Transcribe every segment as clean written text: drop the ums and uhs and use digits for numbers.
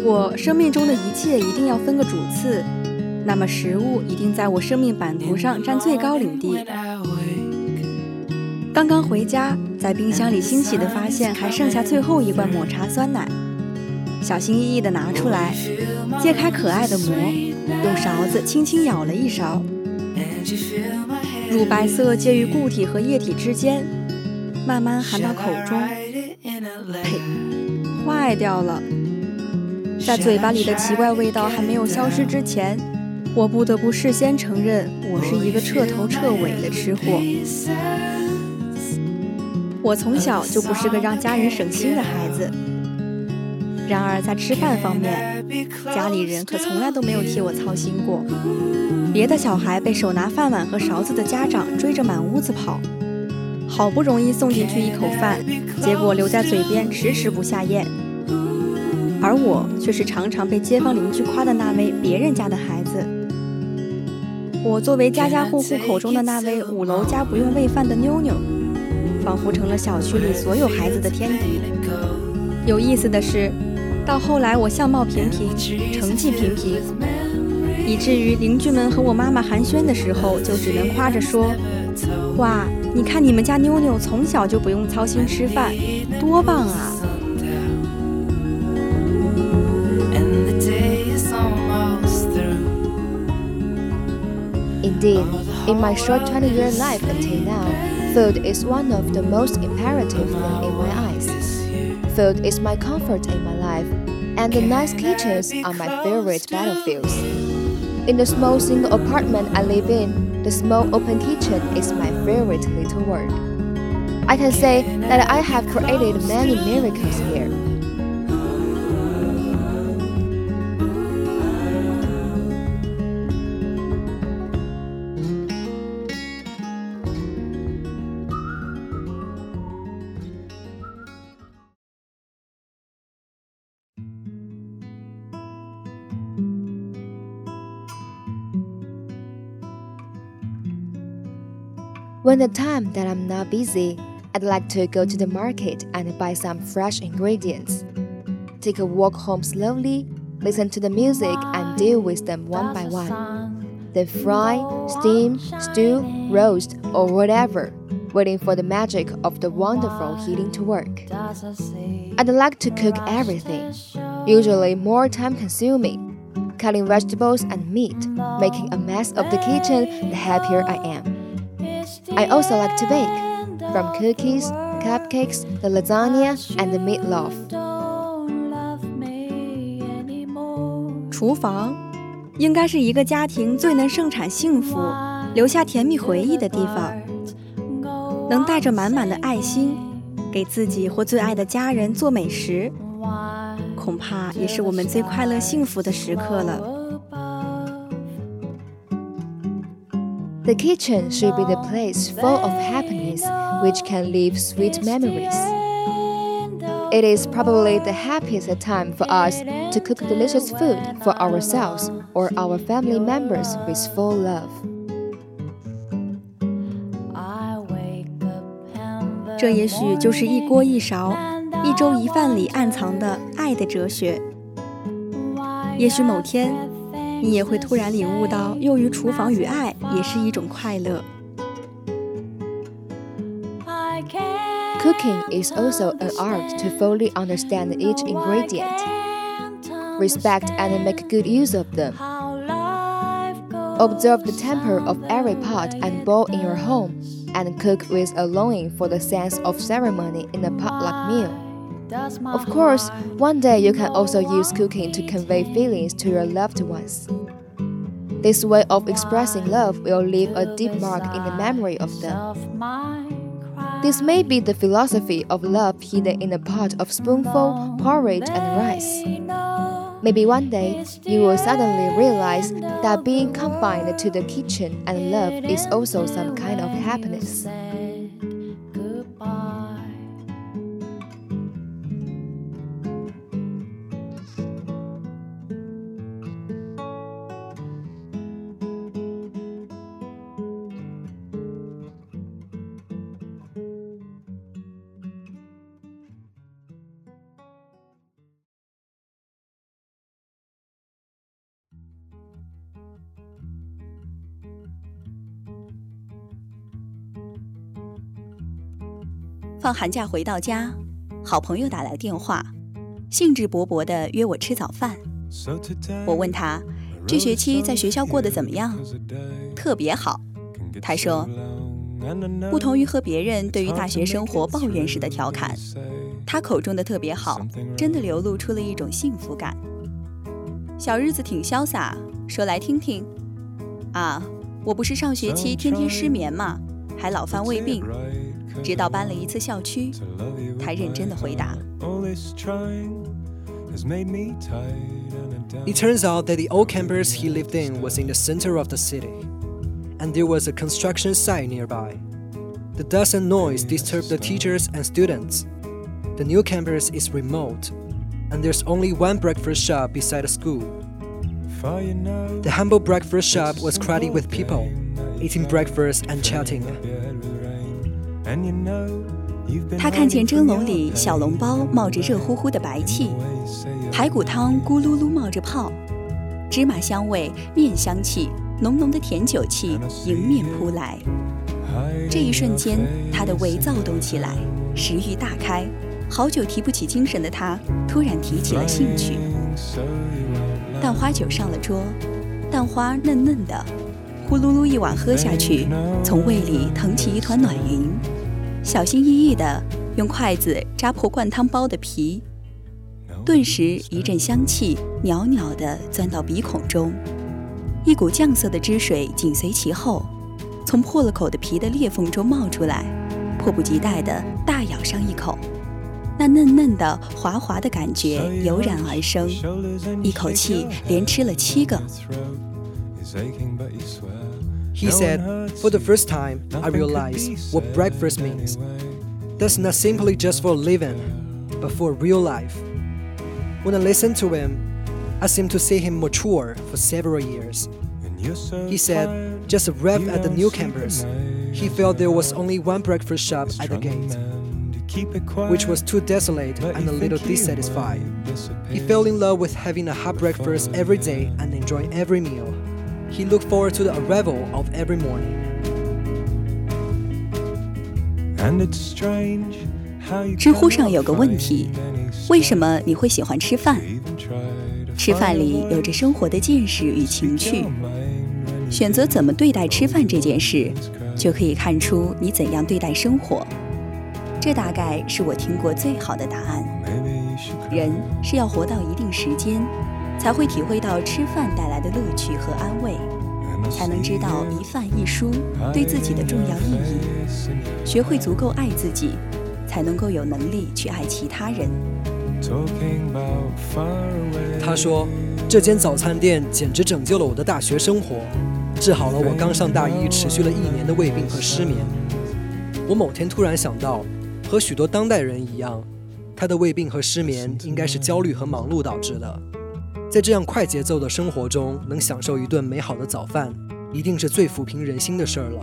果生命中的一切一定要分个主次，那么食物一定在我生命版图上占最高领地。刚刚回家，在冰箱里欣喜地发现还剩下最后一罐抹茶酸奶，小心翼翼地拿出来，揭开可爱的膜，用勺子轻轻舀了一勺，乳白色介于固体和液体之间，慢慢含到口中。呸，坏掉了！在嘴巴里的奇怪味道还没有消失之前，我不得不事先承认，我是一个彻头彻尾的吃货。我从小就不是个让家人省心的孩子，然而在吃饭方面，家里人可从来都没有替我操心过。别的小孩被手拿饭碗和勺子的家长追着满屋子跑，好不容易送进去一口饭，结果留在嘴边迟迟不下咽。而我却是常常被街坊邻居夸的那位别人家的孩子。我作为家家户户口中的那位5楼家不用喂饭的妞妞，仿佛成了小区里所有孩子的天敌。有意思的是，到后来我相貌平平，成绩平平，以至于邻居们和我妈妈寒暄的时候，就只能夸着说：哇，你看你们家妞妞从小就不用操心吃饭，多棒啊！ Indeed, in my short 20-year life until now, food is one of the most imperative things in my eyes. Food is my comfort in my life, and the nice kitchens are my favorite battlefields. In the small single apartment I live in, the small open kitchen is my favorite little world. I can say that I have created many miracles here. When the time that I'm not busy, I'd like to go to the market and buy some fresh ingredients. Take a walk home slowly, listen to the music and deal with them one by one. Then fry, steam, stew, roast, or whatever, waiting for the magic of the wonderful heating to work. I'd like to cook everything, usually more time-consuming, cutting vegetables and meat, making a mess of the kitchen the happier I am. I also like to bake, from cookies, cupcakes, the lasagna, and the meatloaf. 厨房应该是一个家庭最能盛产幸福、留下甜蜜回忆的地方，能带着满满的爱心，给自己或最爱的家人做美食，恐怕也是我们最快乐幸福的时刻了。 The kitchen should be the place full of happiness, which can leave sweet memories. It is probably the happiest time for us to cook delicious food for ourselves or our family members with full love. 这也许就是一锅一勺、一粥一饭里暗藏的爱的哲学。也许某天，你也会突然领悟到，囿于厨房与爱也是一种快乐。 Cooking is also an art to fully understand each ingredient, respect and make good use of them. Observe the temper of every pot and bowl in your home, and cook with a longing for the sense of ceremony in a potluck meal. Of course, one day you can also use cooking to convey feelings to your loved ones. This way of expressing love will leave a deep mark in the memory of them. This may be the philosophy of love hidden in a pot of spoonful, porridge, and rice. Maybe one day you will suddenly realize that being confined to the kitchen and love is also some kind of happiness. 放寒假回到家，好朋友打来电话，兴致勃勃地约我吃早饭。我问他这学期在学校过得怎么样？特别好。他说，不同于和别人对于大学生活抱怨时的调侃，他口中的特别好真的流露出了一种幸福感。小日子挺潇洒，说来听听。啊，我不是上学期天天失眠吗？还老犯胃病，直到搬了一次校区。他认真地回答。 It turns out that the old campus he lived in was in the center of the city, and there was a construction site nearby. The dust and noise disturbed the teachers and students. The new campus is remote, and there's only one breakfast shop beside the school. The humble breakfast shop was crowded with people, eating breakfast and chatting. 他看见蒸笼里小笼包冒着热乎乎的白气，排骨汤咕噜噜冒着泡，芝麻香味、面香气、浓浓的甜酒气迎面扑来。这一瞬间，他的胃躁动起来，食欲大开。好久提不起精神的他，突然提起了兴趣。蛋花酒上了桌，蛋花嫩嫩的，呼噜噜一碗喝下去，从胃里腾起一团暖云。小心翼翼地用筷子扎破灌汤包的皮，顿时一阵香气袅袅地钻到鼻孔中，一股酱色的汁水紧随其后，从破了口的皮的裂缝中冒出来，迫不及待地大咬上一口。那嫩嫩的滑滑的感觉油然而生，一口气连吃了7个。 He said, "For the first time, I realized what breakfast means. That's not simply just for a living, but for real life." When I listened to him, I seemed to see him mature for several years. He said, just arrived at the new campus, he felt there was only one breakfast shop at the gate, which was too desolate and a little dissatisfied. He fell in love with having a hot breakfast every day and enjoying every meal.He looked forward to the arrival of every morning. And it's strange how 知乎上有个问题，为什么你会喜欢吃饭？吃饭里有着生活的见识与情趣，选择怎么对待吃饭这件事，就可以看出你怎样对待生活。这大概是我听过最好的答案。人是要活到一定时间，才会体会到吃饭带来的乐趣和安慰，才能知道一饭一蔬对自己的重要意义，学会足够爱自己，才能够有能力去爱其他人。 他说，这间早餐店简直拯救了我的大学生活，治好了我刚上大一持续了1年的胃病和失眠。我某天突然想到，和许多当代人一样，他的胃病和失眠应该是焦虑和忙碌导致的。在这样快节奏的生活中，能享受一顿美好的早饭，一定是最抚平人心的事儿了。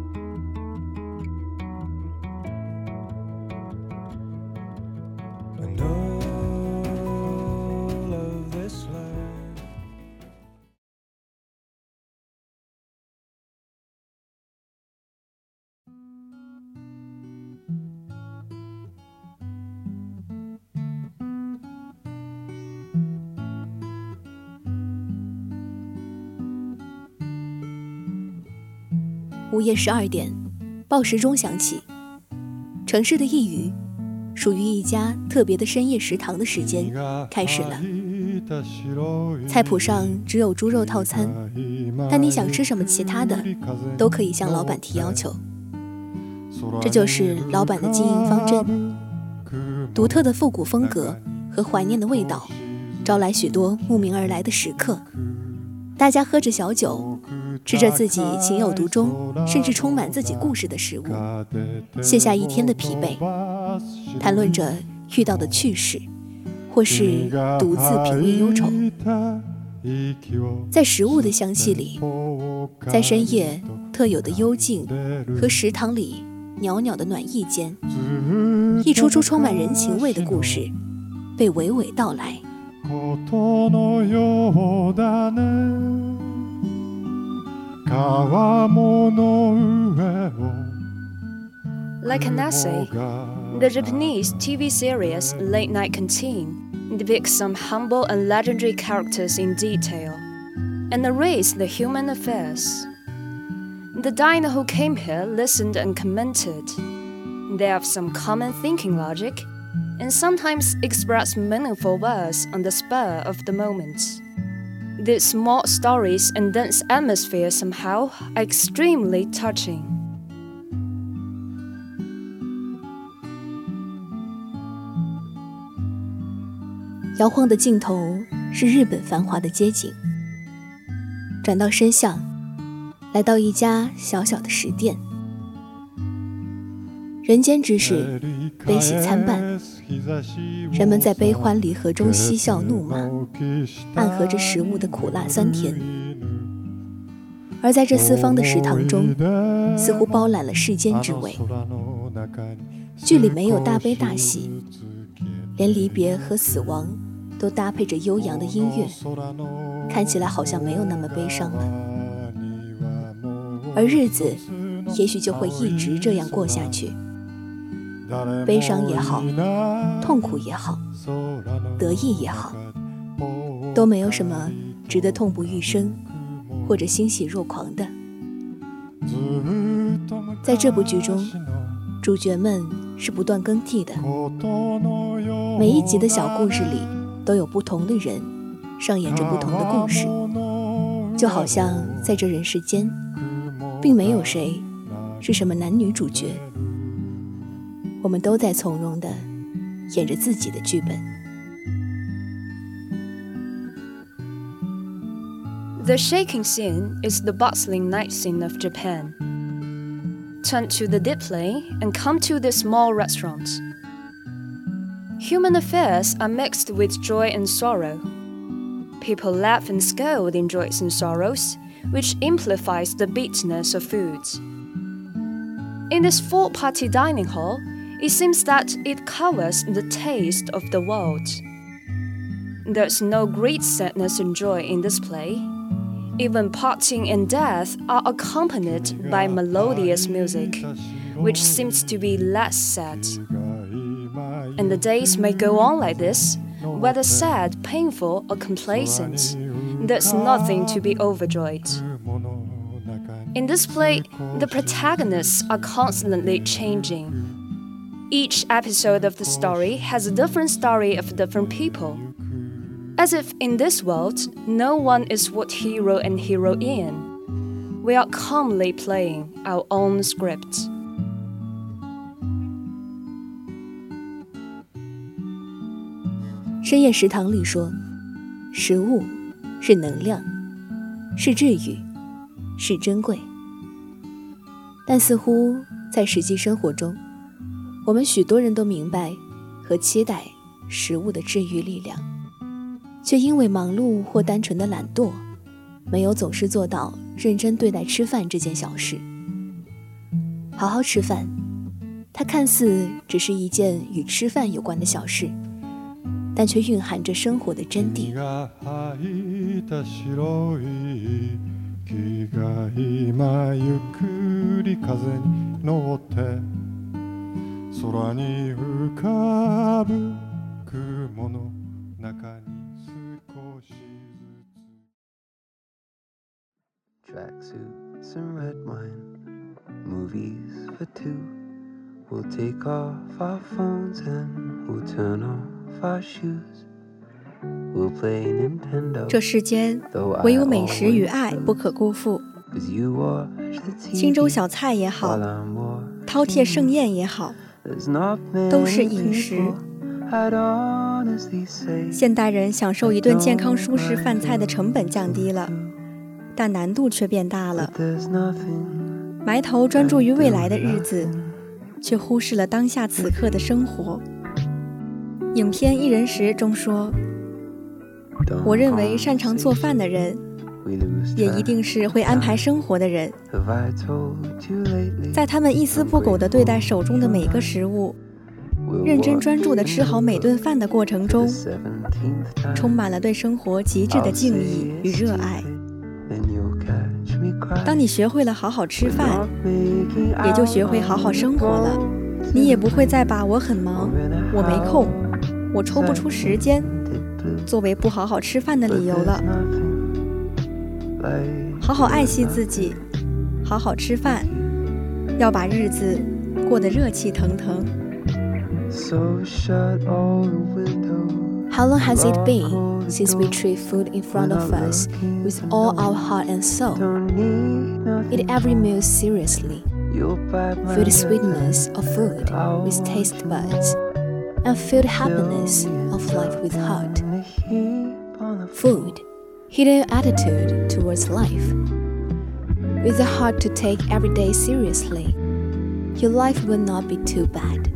午夜12点，报时钟响起。城市的一隅，属于一家特别的深夜食堂的时间开始了。菜谱上只有猪肉套餐，但你想吃什么其他的，都可以向老板提要求。这就是老板的经营方针。独特的复古风格和怀念的味道，招来许多慕名而来的食客。大家喝着小酒，吃着自己情有独钟甚至充满自己故事的食物，卸下一天的疲惫，谈论着遇到的趣事，或是独自品味忧愁。在食物的香气里，在深夜特有的幽静和食堂里袅袅的暖意间，一出出充满人情味的故事被娓娓道来。 Like an essay, the Japanese TV series Late Night Canteen depicts some humble and legendary characters in detail and narrates the human affairs. The diner who came here listened and commented. They have some common thinking logic and sometimes express meaningful words on the spur of the moment. These small stories and dense atmosphere somehow are extremely touching. 摇晃的镜头是日本繁华的街景，转到深巷，来到一家小小的食店。人间之事，悲喜参半，人们在悲欢离合中嬉笑怒骂，暗合着食物的苦辣酸甜。而在这四方的食堂中，似乎包揽了世间之味。剧里没有大悲大喜，连离别和死亡都搭配着悠扬的音乐，看起来好像没有那么悲伤了。而日子也许就会一直这样过下去，悲伤也好，痛苦也好，得意也好，都没有什么值得痛不欲生或者欣喜若狂的。在这部剧中，主角们是不断更替的，每一集的小故事里都有不同的人上演着不同的故事，就好像在这人世间并没有谁是什么男女主角，我们都在从容地演着自己的剧本。 The shaking scene is the bustling night scene of Japan. Turn to the display and come to this small restaurant. Human affairs are mixed with joy and sorrow. People laugh and scold in joys and sorrows, which amplifies the bitterness of foods. In this four-party dining hall, it seems that it covers the taste of the world. There's no great sadness and joy in this play. Even parting and death are accompanied by melodious music, which seems to be less sad. And the days may go on like this, whether sad, painful, or complacent. There's nothing to be overjoyed. In this play, the protagonists are constantly changing. Each episode of the story has a different story of different people. As if in this world, no one is what hero and heroine. We are calmly playing our own script. 深夜食堂里说，食物是能量，是治愈，是珍贵。但似乎在实际生活中，我们许多人都明白和期待食物的治愈力量，却因为忙碌或单纯的懒惰，没有总是做到认真对待吃饭这件小事。好好吃饭，它看似只是一件与吃饭有关的小事，但却蕴含着生活的真谛。 Tracksuits and red wine, movies for two. We'll take off our phones and we'll turn off our shoes. We'll play Nintendo. 这世间唯有美食与爱不可辜负。清粥小菜也好，饕餮盛宴也好，都是饮食。现代人享受一顿健康舒适饭菜的成本降低了，但难度却变大了。埋头专注于未来的日子，却忽视了当下此刻的生活。影片《一人食》中说，我认为擅长做饭的人，也一定是会安排生活的人。在他们一丝不苟地对待手中的每个食物，认真专注地吃好每顿饭的过程中，充满了对生活极致的敬意与热爱。当你学会了好好吃饭，也就学会好好生活了。 你也不会再把我很忙，我没空，我抽不出时间作为不好好吃饭的理由了。好好爱惜自己，好好吃饭，要把日子过得热气腾腾。 How long has it been since we treat food in front of us with all our heart and soul? Eat every meal seriously. Feel the sweetness of food with taste buds, and feel the happiness of life with heart. Food, hidden attitude towards life. With a heart to take every day seriously, your life will not be too bad.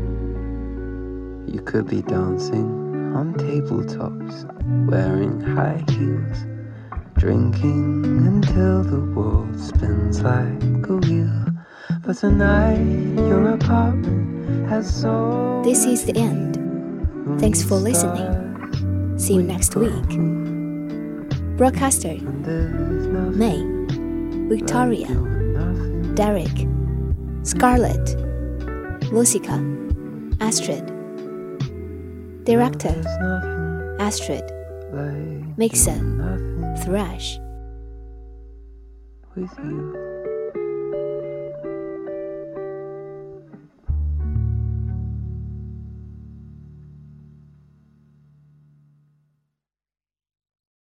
You could be dancing on tabletops, wearing high heels, drinking until the world spins like a wheel. But tonight your apartment has so. This is the end. Thanks for listening. See you next week. Broadcaster May, Victoria, Derek, Scarlett, Lucica, Astrid. Director Astrid. Mixer Thrash. With you.